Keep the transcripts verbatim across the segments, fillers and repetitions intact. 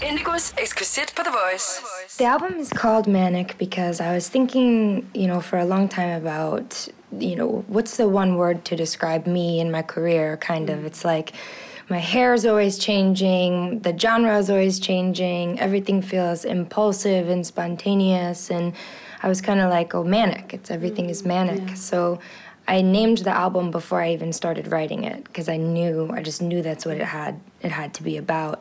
Indigos Exquisite på The Voice. The album is called Manic because I was thinking, you know, for a long time about, you know, what's the one word to describe me and my career, kind of. It's like my hair is always changing, the genre is always changing, everything feels impulsive and spontaneous, and I was kind of like, oh, manic, it's everything is manic. Yeah. So I named the album before I even started writing it because I knew, I just knew that's what it had, it had to be about.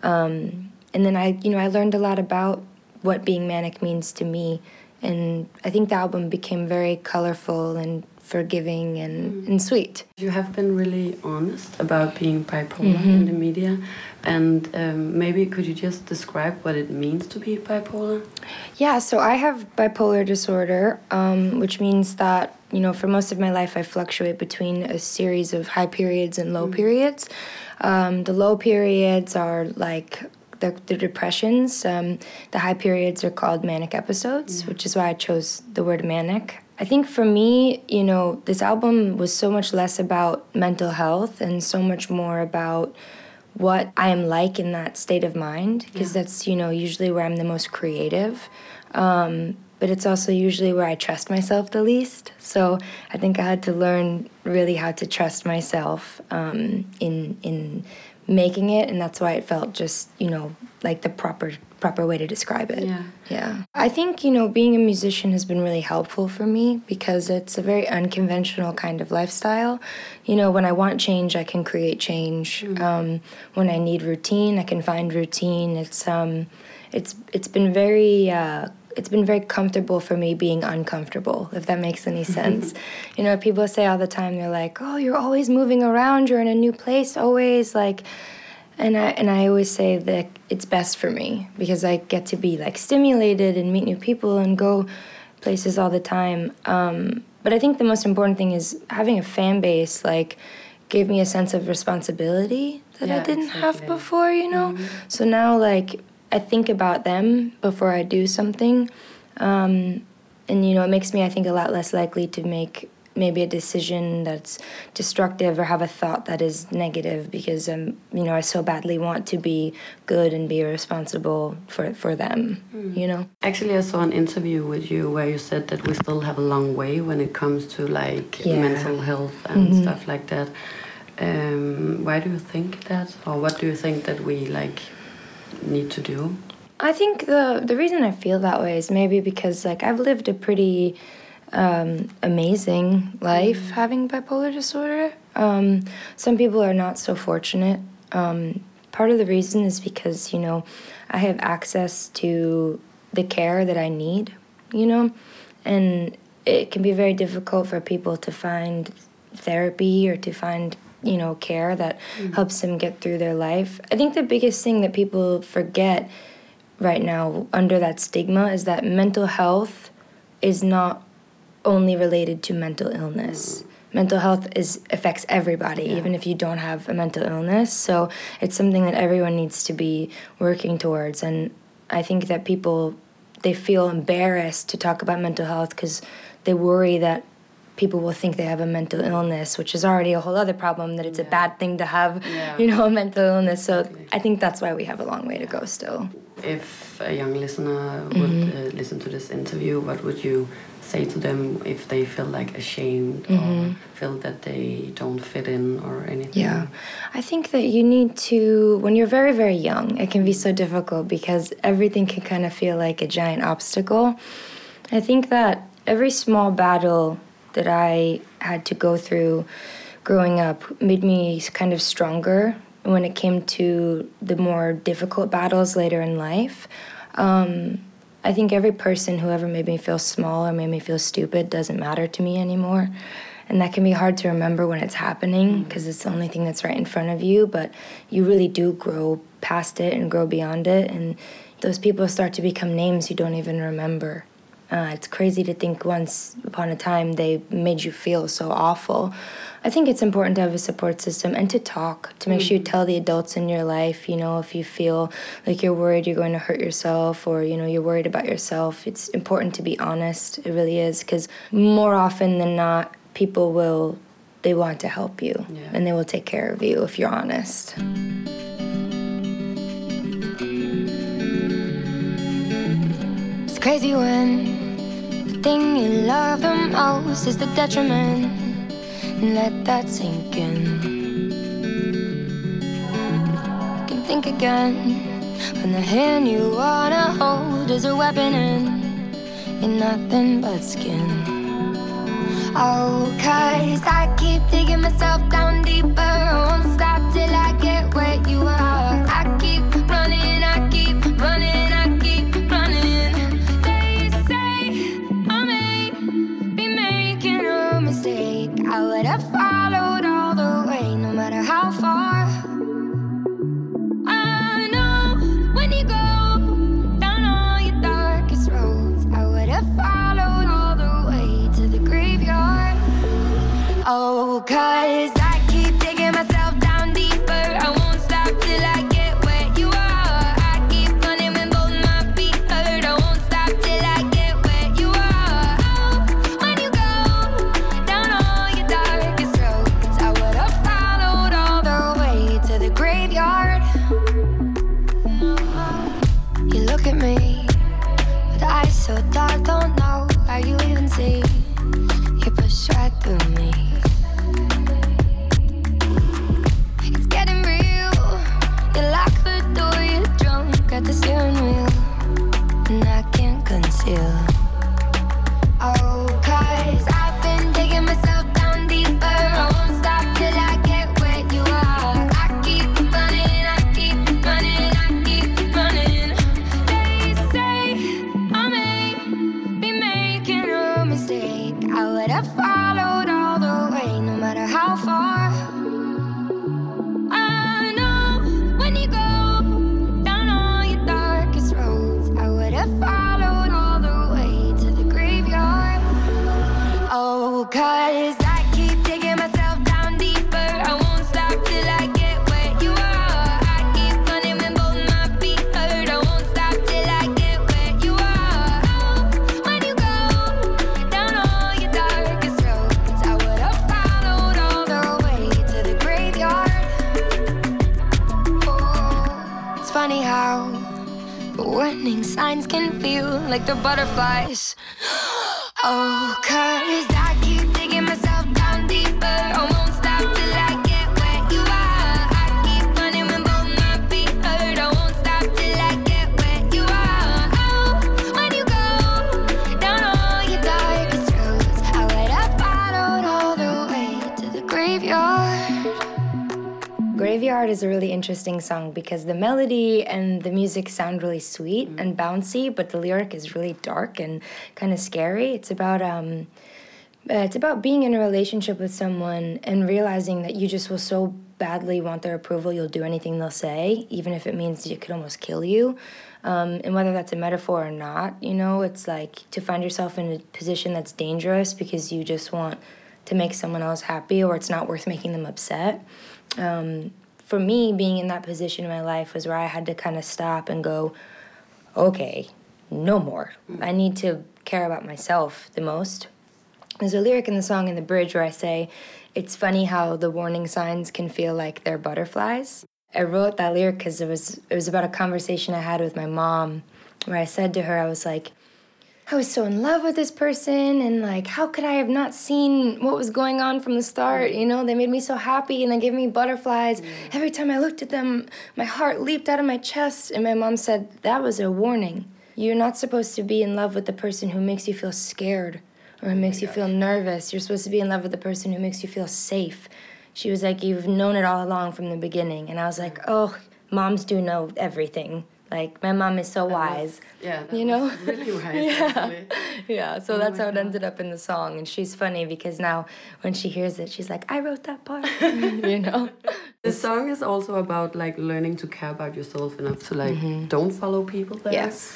Um, and then I, you know, I learned a lot about what being manic means to me, and I think the album became very colorful and forgiving and, mm. and sweet. You have been really honest about being bipolar mm-hmm. in the media, and um, maybe could you just describe what it means to be bipolar? Yeah, so I have bipolar disorder, um, which means that, you know, for most of my life I fluctuate between a series of high periods and low mm. periods. Um, the low periods are like the, the depressions. Um, the high periods are called manic episodes, yeah. which is why I chose the word manic. I think for me, you know, this album was so much less about mental health and so much more about what I am like in that state of mind, because yeah. that's, you know, usually where I'm the most creative. Um, but it's also usually where I trust myself the least. So I think I had to learn really how to trust myself um, in in making it, and that's why it felt just, you know, like the proper proper way to describe it. Yeah. Yeah. I think, you know, being a musician has been really helpful for me because it's a very unconventional kind of lifestyle. You know, when I want change, I can create change. Mm. Um, when I need routine, I can find routine. It's um, it's it's been very uh, it's been very comfortable for me being uncomfortable, if that makes any sense. You know, people say all the time, they're like, oh, you're always moving around, you're in a new place always, like, and I and I always say that it's best for me because I get to be, like, stimulated and meet new people and go places all the time. Um, but I think the most important thing is having a fan base, like, gave me a sense of responsibility that yeah, I didn't exactly. have before, you know? Mm-hmm. So now, like, I think about them before I do something. Um, and, you know, it makes me, I think, a lot less likely to make maybe a decision that's destructive or have a thought that is negative because, um, you know, I so badly want to be good and be responsible for, for them, mm. you know? Actually, I saw an interview with you where you said that we still have a long way when it comes to, like, yeah. mental health and mm-hmm. stuff like that. Um, why do you think that? Or what do you think that we, like, need to do? I think the the reason I feel that way is maybe because, like, I've lived a pretty um, amazing life mm. having bipolar disorder. Um, some people are not so fortunate. Um, part of the reason is because, you know, I have access to the care that I need, you know, and it can be very difficult for people to find therapy or to find, you know, care that mm. helps them get through their life. I think the biggest thing that people forget right now under that stigma is that mental health is not only related to mental illness. Mm. Mental health is affects everybody, yeah. even if you don't have a mental illness. So it's something that everyone needs to be working towards. And I think that people, they feel embarrassed to talk about mental health because they worry that people will think they have a mental illness, which is already a whole other problem, that it's yeah. a bad thing to have, yeah. you know, a mental illness. So exactly. I think that's why we have a long way to go still. If a young listener would mm-hmm. uh, listen to this interview, what would you say to them if they feel like ashamed mm-hmm. or feel that they don't fit in or anything? Yeah, I think that you need to, when you're very, very young, it can be so difficult because everything can kind of feel like a giant obstacle. I think that every small battle that I had to go through growing up made me kind of stronger when it came to the more difficult battles later in life. Um, I think every person who ever made me feel small or made me feel stupid doesn't matter to me anymore. And that can be hard to remember when it's happening because it's the only thing that's right in front of you, but you really do grow past it and grow beyond it, and those people start to become names you don't even remember. Uh, it's crazy to think once upon a time they made you feel so awful. I think it's important to have a support system and to talk, to make mm-hmm. sure you tell the adults in your life, you know, if you feel like you're worried you're going to hurt yourself or, you know, you're worried about yourself. It's important to be honest. It really is, because more often than not, people will, they want to help you yeah. and they will take care of you if you're honest. crazy when the thing you love the most is the detriment. And let that sink in. You can think again when the hand you wanna hold is a weapon and you're nothing but skin. Oh, cause I keep digging myself down deeper. I won't stop till I get where you are. I keep running, I keep running, I keep running. They say I may be making a mistake. I would have followed all the way, no matter how far. I know when you go down all your darkest roads, I would have followed all the way to the graveyard. Oh, cause I keep digging myself down deeper. I won't stop till I get where you are. I keep running when both my feet hurt. I won't stop till I get where you are. Oh, when you go down all your darkest roads, I would have followed all the way to the graveyard. You look at me with eyes so dark, don't know how you even see. You push right through me. It's getting real. You lock the door, you're drunk at the steering wheel, and I can't conceal. Oh, cause I've been digging myself down deeper. I won't stop till I get where you are. I keep running, I keep running, I keep running. They say I may be making a mistake. I would have followed all the way, no matter how far. I know when you go down all your darkest roads, I would have followed all the way to the graveyard. Oh, cause I keep digging myself down deeper. I won't stop till I get where you are. I keep running when both my feet hurt. I won't stop till I get where you are. Oh, when you go down all your darkest roads, I would have followed all the way to the graveyard. Oh, it's funny how the warning signs can feel like the butterflies. Oh, cause I keep digging myself down deeper. I won't stop till I get where you are. I keep running when both my feet hurt. I won't stop till I get where you are. Oh, when you go down all your darkest roads, I would have followed all the way to the graveyard. Graveyard is a really interesting song because the melody and the music sound really sweet mm. and bouncy, but the lyric is really dark and kind of scary. It's about um, uh, it's about being in a relationship with someone and realizing that you just will so badly want their approval, you'll do anything they'll say, even if it means it could almost kill you. Um, and whether that's a metaphor or not, you know, it's like to find yourself in a position that's dangerous because you just want to make someone else happy or it's not worth making them upset. Um, for me, being in that position in my life was where I had to kind of stop and go, okay, no more. I need to care about myself the most. There's a lyric in the song in the bridge where I say, it's funny how the warning signs can feel like they're butterflies. I wrote that lyric because it was, it was about a conversation I had with my mom where I said to her, I was like, I was so in love with this person, and like, how could I have not seen what was going on from the start? You know, they made me so happy, and they gave me butterflies. Mm. Every time I looked at them, my heart leaped out of my chest. And my mom said, that was a warning. You're not supposed to be in love with the person who makes you feel scared or who makes you feel nervous. You're supposed to be in love with the person who makes you feel safe. She was like, you've known it all along from the beginning. And I was like, oh, moms do know everything. Like, my mom is so that wise. Was, yeah, that you know? was really wise, yeah. actually. Yeah, so oh that's how it God. ended up in the song. And she's funny because now when she hears it, she's like, I wrote that part, you know? The song is also about, like, learning to care about yourself enough to, like, mm-hmm. don't follow people there. Yes.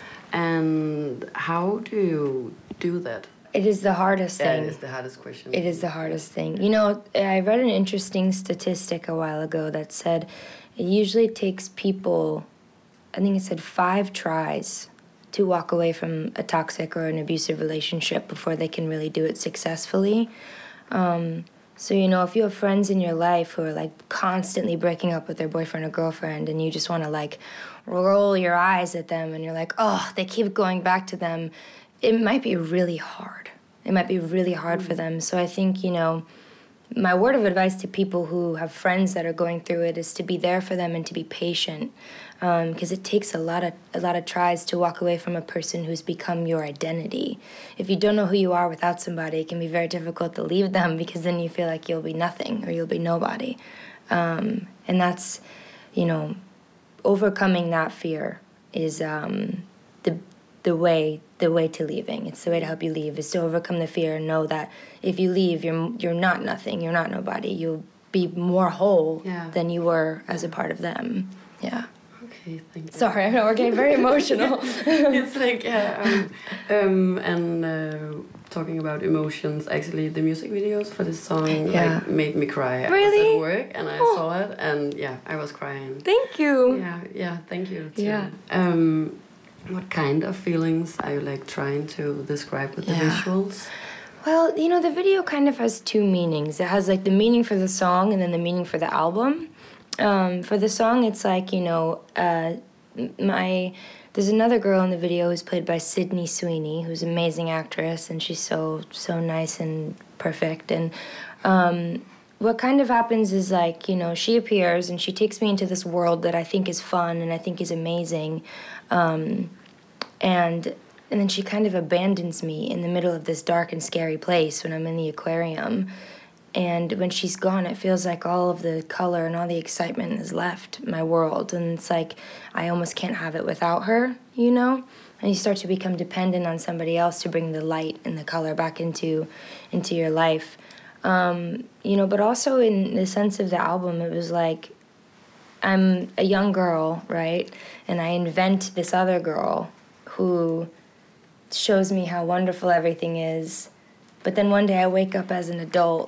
And how do you do that? It is the hardest yeah, thing. It is the hardest question. It is the hardest thing. You know, I read an interesting statistic a while ago that said it usually takes people, I think it said five tries to walk away from a toxic or an abusive relationship before they can really do it successfully. Um, So, you know, if you have friends in your life who are, like, constantly breaking up with their boyfriend or girlfriend and you just want to, like, roll your eyes at them and you're like, oh, they keep going back to them, it might be really hard. It might be really hard mm. for them. So I think, you know, my word of advice to people who have friends that are going through it is to be there for them and to be patient, because um, it takes a lot of a lot of tries to walk away from a person who's become your identity. If you don't know who you are without somebody, it can be very difficult to leave them, because then you feel like you'll be nothing or you'll be nobody. Um, and that's, you know, overcoming that fear is um, the the way the way to leaving. It's the way to help you leave, is to overcome the fear and know that if you leave, you're you're not nothing, you're not nobody. You'll be more whole yeah. than you were as a part of them. Yeah. Okay, thank you. Sorry, I know we're getting very emotional. It's like, yeah, um, um, and uh, talking about emotions, actually the music videos for this song yeah. like made me cry. Really? I was at work and I oh. saw it, and yeah, I was crying. Thank you. Yeah, yeah, thank you too. Yeah. Um, what kind of feelings are you like trying to describe with the yeah. visuals? Well, you know, the video kind of has two meanings. It has like the meaning for the song and then the meaning for the album. Um, for the song, it's like, you know, uh, my there's another girl in the video who's played by Sydney Sweeney, who's an amazing actress, and she's so so nice and perfect. And um, what kind of happens is, like, you know, she appears and she takes me into this world that I think is fun and I think is amazing, um, and and then she kind of abandons me in the middle of this dark and scary place when I'm in the aquarium. And when she's gone, it feels like all of the color and all the excitement has left my world. And it's like I almost can't have it without her, you know? And you start to become dependent on somebody else to bring the light and the color back into into your life. Um, you know, but also in the sense of the album, it was like I'm a young girl, right? And I invent this other girl who shows me how wonderful everything is. But then one day I wake up as an adult,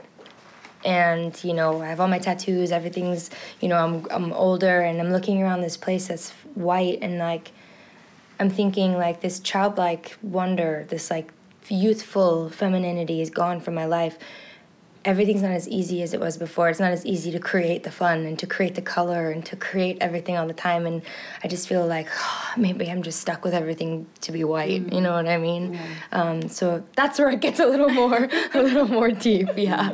and, you know, I have all my tattoos, everything's, you know, I'm I'm older, and I'm looking around this place that's white, and, like, I'm thinking, like, this childlike wonder, this, like, youthful femininity is gone from my life. Everything's not as easy as it was before. It's not as easy to create the fun and to create the color and to create everything all the time. And I just feel like, oh, maybe I'm just stuck with everything to be white. Mm-hmm. You know what I mean? Yeah. Um, so that's where it gets a little more, a little more deep. Yeah.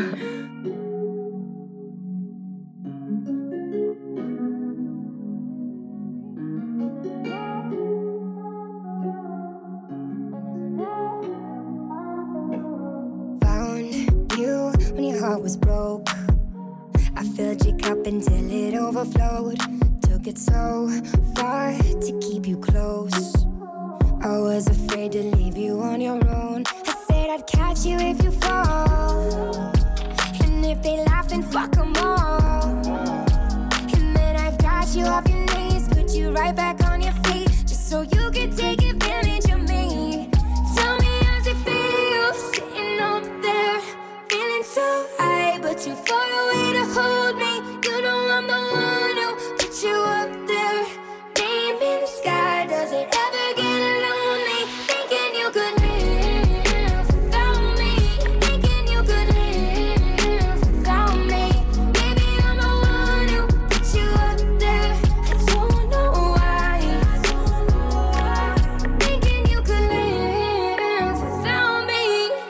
Was broke. I filled your cup until it overflowed. Took it so far to keep you close. I was afraid to leave you on your own. I said I'd catch you if you fall, and if they laugh, then fuck them all. And then I got you off your knees, put you right back on your feet, just so you could take advantage of me. Tell me how's it feel, sitting up there, feeling so high, but too far away to hold me. You know I'm the one who put you up there. Name in the sky, does it ever get lonely? Thinking you could live without me. Thinking you could live without me. Maybe I'm the one who put you up there. I don't know why. Thinking you could live without me.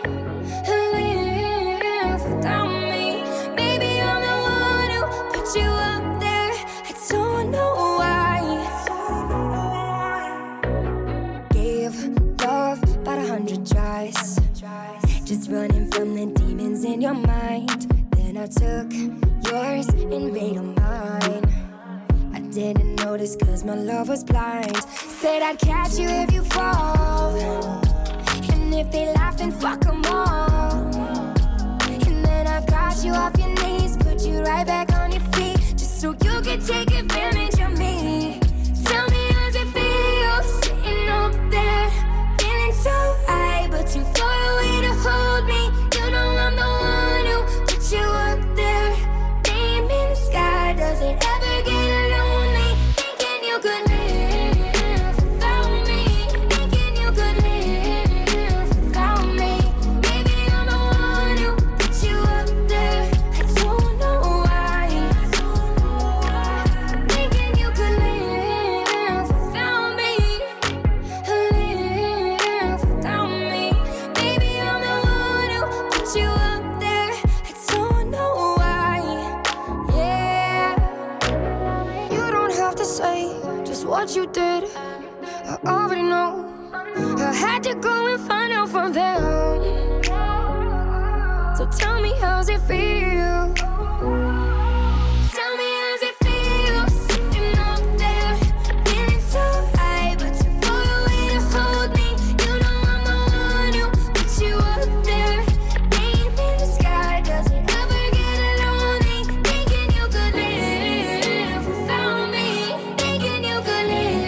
Live without me. Baby, I'm the one who put you up there. I don't know why. Gave love about a hundred tries, just running from the demons in your mind. Then I took yours and made them mine. I didn't notice cause my love was blind. Said I'd catch you if you fall, and if they laugh, then fuck them all. And then I got you off your knees, put you right back on your feet, just so you could take advantage of me. Tell me how's it feel, sitting up there, feeling so high, but too far away to hold me. You know I'm the one who put you up there. Name in the sky, does it ever get lonely? Thinking you could live without me. Thinking you could live without me. Maybe I'm the one who put you up there. what you did, I already know. I had to go and find out from them. So tell me, how's it feel? Tell me, how's it feel? Sitting up there, feeling so high, but too far away to hold me. You know I'm the one who put you up there. Name in the sky, does it ever get lonely? Thinking you could live without me. Thinking you could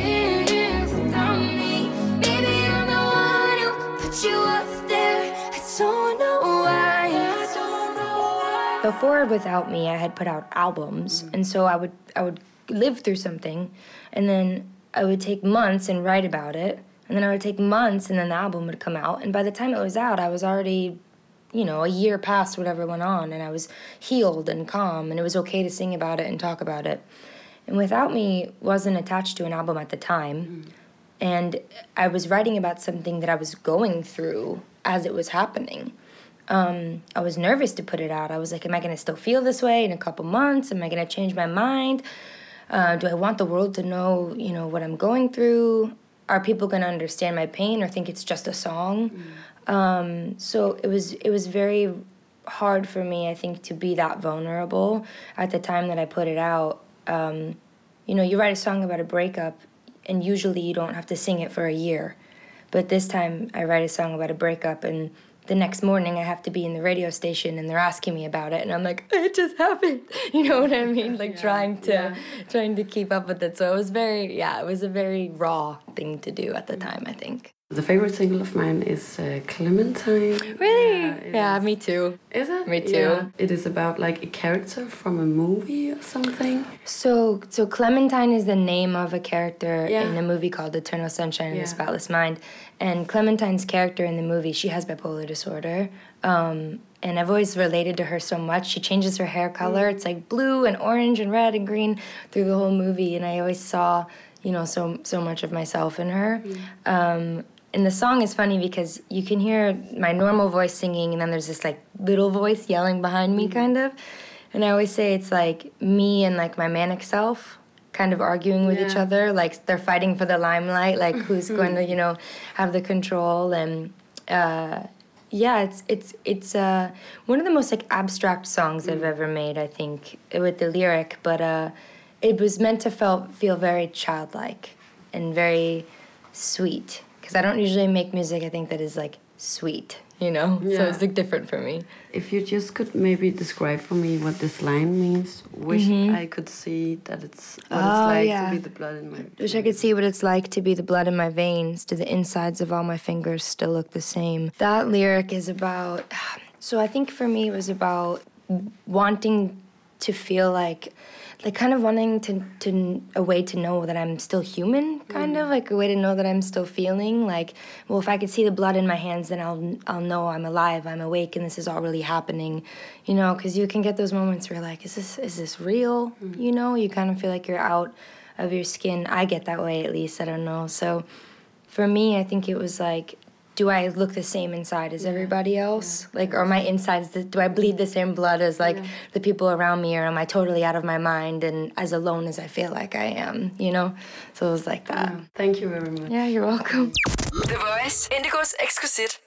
live without me. Baby, I'm the one who put you up there. I don't know why. I don't know why. Before Without Me, I had put out albums, and so I would I would live through something, and then I would take months and write about it, and then I would take months, and then the album would come out, and by the time it was out, I was already, you know, a year past whatever went on, and I was healed and calm, and it was okay to sing about it and talk about it. And Without Me wasn't attached to an album at the time, mm. and I was writing about something that I was going through as it was happening. Um, I was nervous to put it out. I was like, am I going to still feel this way in a couple months? Am I going to change my mind? Uh, do I want the world to know, you know, what I'm going through? Are people going to understand my pain or think it's just a song? Mm. Um, so it was it was very hard for me, I think, to be that vulnerable at the time that I put it out. Um, you know, you write a song about a breakup, and usually you don't have to sing it for a year. But this time I write a song about a breakup, and the next morning I have to be in the radio station and they're asking me about it, and I'm like, it just happened. You know what I mean? Like yeah, trying to yeah. trying to keep up with it. So it was very, yeah, it was a very raw thing to do at the time, I think. The favorite single of mine is uh, Clementine. Really? Yeah, yeah is. me too. Is it? Me too. Yeah. It is about like a character from a movie or something. So so Clementine is the name of a character yeah. in a movie called Eternal Sunshine of yeah. the Spotless Mind. And Clementine's character in the movie, she has bipolar disorder. Um, and I've always related to her so much. She changes her hair color. Mm. It's like blue and orange and red and green through the whole movie. And I always saw, you know, so so much of myself in her. Mm. Um, And the song is funny because you can hear my normal voice singing, and then there's this like little voice yelling behind me, kind of. And I always say it's like me and like my manic self kind of arguing with yeah. each other. Like they're fighting for the limelight, like who's going to, you know, have the control. And uh, yeah, it's it's it's uh, one of the most like abstract songs mm. I've ever made, I think, with the lyric. But uh, it was meant to feel feel very childlike and very sweet. Because I don't usually make music, I think, that is, like, sweet, you know? Yeah. So it's, like, different for me. If you just could maybe describe for me what this line means. Wish mm-hmm. I could see that it's what oh, it's like yeah. to be the blood in my veins. Wish I could see what it's like to be the blood in my veins. Do the insides of all my fingers still look the same? That lyric is about... So I think for me it was about wanting to feel like... Like kind of wanting to, to a way to know that I'm still human, kind mm. of like a way to know that I'm still feeling. Like, well, if I could see the blood in my hands, then I'll I'll know I'm alive, I'm awake, and this is all really happening, you know. Because you can get those moments where you're like, is this is this real? Mm. You know, you kind of feel like you're out of your skin. I get that way at least. I don't know. So, for me, I think it was like, do I look the same inside as yeah. everybody else? Yeah. Like, are my insides, do I bleed the same blood as, like, yeah. the people around me? Or am I totally out of my mind and as alone as I feel like I am, you know? So it was like that. Yeah. Thank you very much. Yeah, you're welcome. The Voice, Indigos Exquisite.